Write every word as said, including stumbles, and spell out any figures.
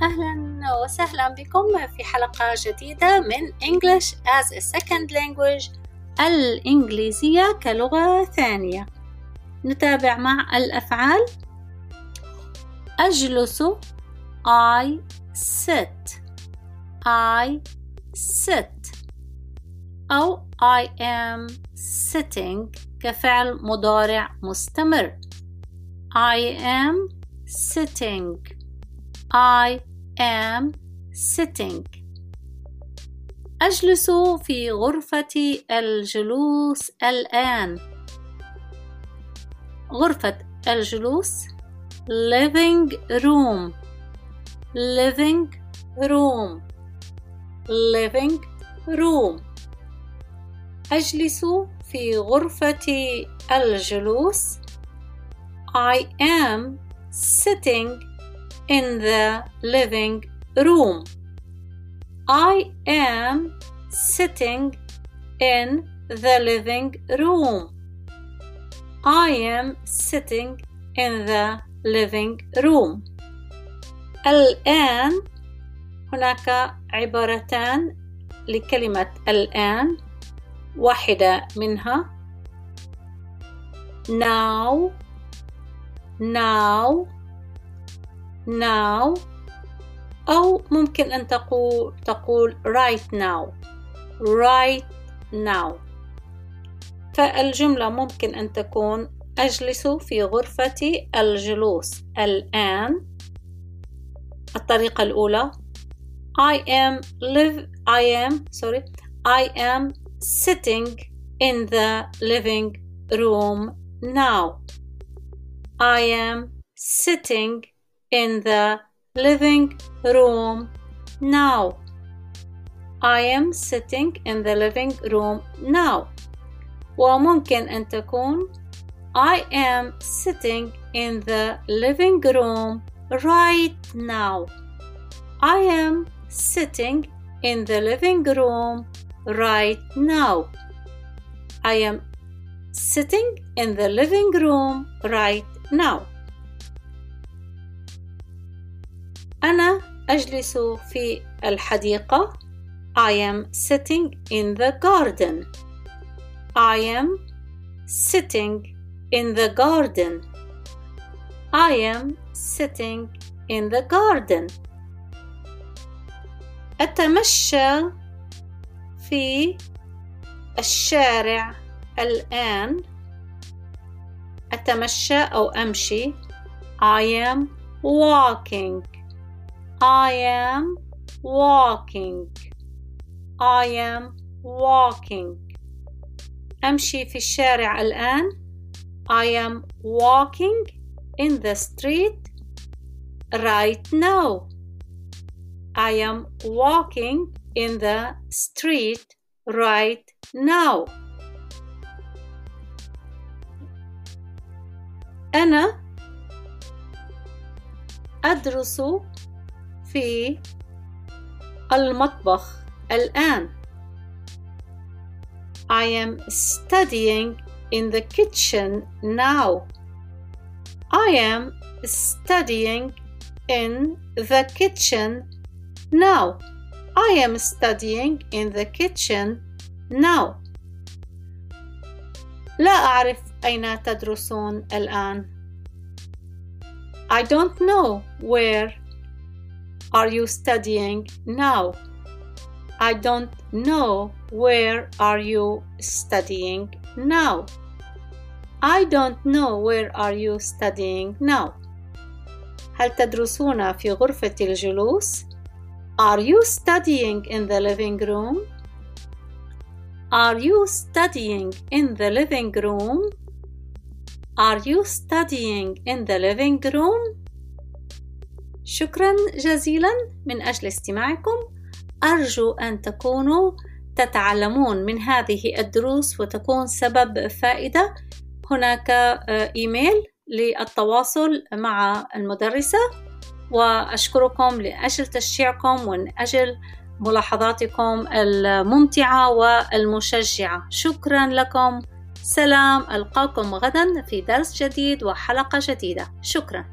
أهلا وسهلا بكم في حلقة جديدة من English as a Second Language، الإنجليزية كلغة ثانية. نتابع مع الأفعال. أجلس I sit I sit أو I am sitting كفعل مضارع مستمر. I am sitting I am sitting. أجلس في غرفة الجلوس الآن. غرفة الجلوس living room living room living room. أجلس في غرفة الجلوس I am sitting in the living room. I am sitting in the living room. I am sitting in the living room. الآن هناك عبارتان لكلمة الآن، واحدة منها now now now أو ممكن أن تقول تقول right now right now. فالجملة ممكن أن تكون أجلس في غرفة الجلوس الآن. الطريقة الأولى I am live I am sorry I am sitting in the living room now. I am sitting in the living room now. I am sitting in the living room now. وممكن أن تكون I am sitting in the living room right now. I am sitting in the living room right now. I am sitting in the living room right now. أنا أجلس في الحديقة. I am sitting in the garden. I am sitting in the garden. I am sitting in the garden. أتمشى في الشارع الآن. أتمشى أو أمشي I am walking. I am walking. I am walking. أمشي في الشارع الآن. I am walking in the street right now. I am walking in the street right now. أنا أدرس في المطبخ الآن. I am studying in the kitchen now. I am studying in the kitchen now. I am studying in the kitchen now. لا أعرف أين تدرسون الآن. I don't know where are you studying now. I don't know where are you studying now. I don't know where are you studying now. هل تدرسون في غرفة الجلوس؟ Are you studying in the living room? Are you studying in the living room? Are you studying in the living room? شكرا جزيلا من أجل استماعكم. أرجو أن تكونوا تتعلمون من هذه الدروس وتكون سبب فائدة. هناك إيميل للتواصل مع المدرسة، وأشكركم لأجل تشجيعكم ومن أجل ملاحظاتكم الممتعة والمشجعة. شكرا لكم. سلام، ألقاكم غدا في درس جديد وحلقة جديدة. شكرا.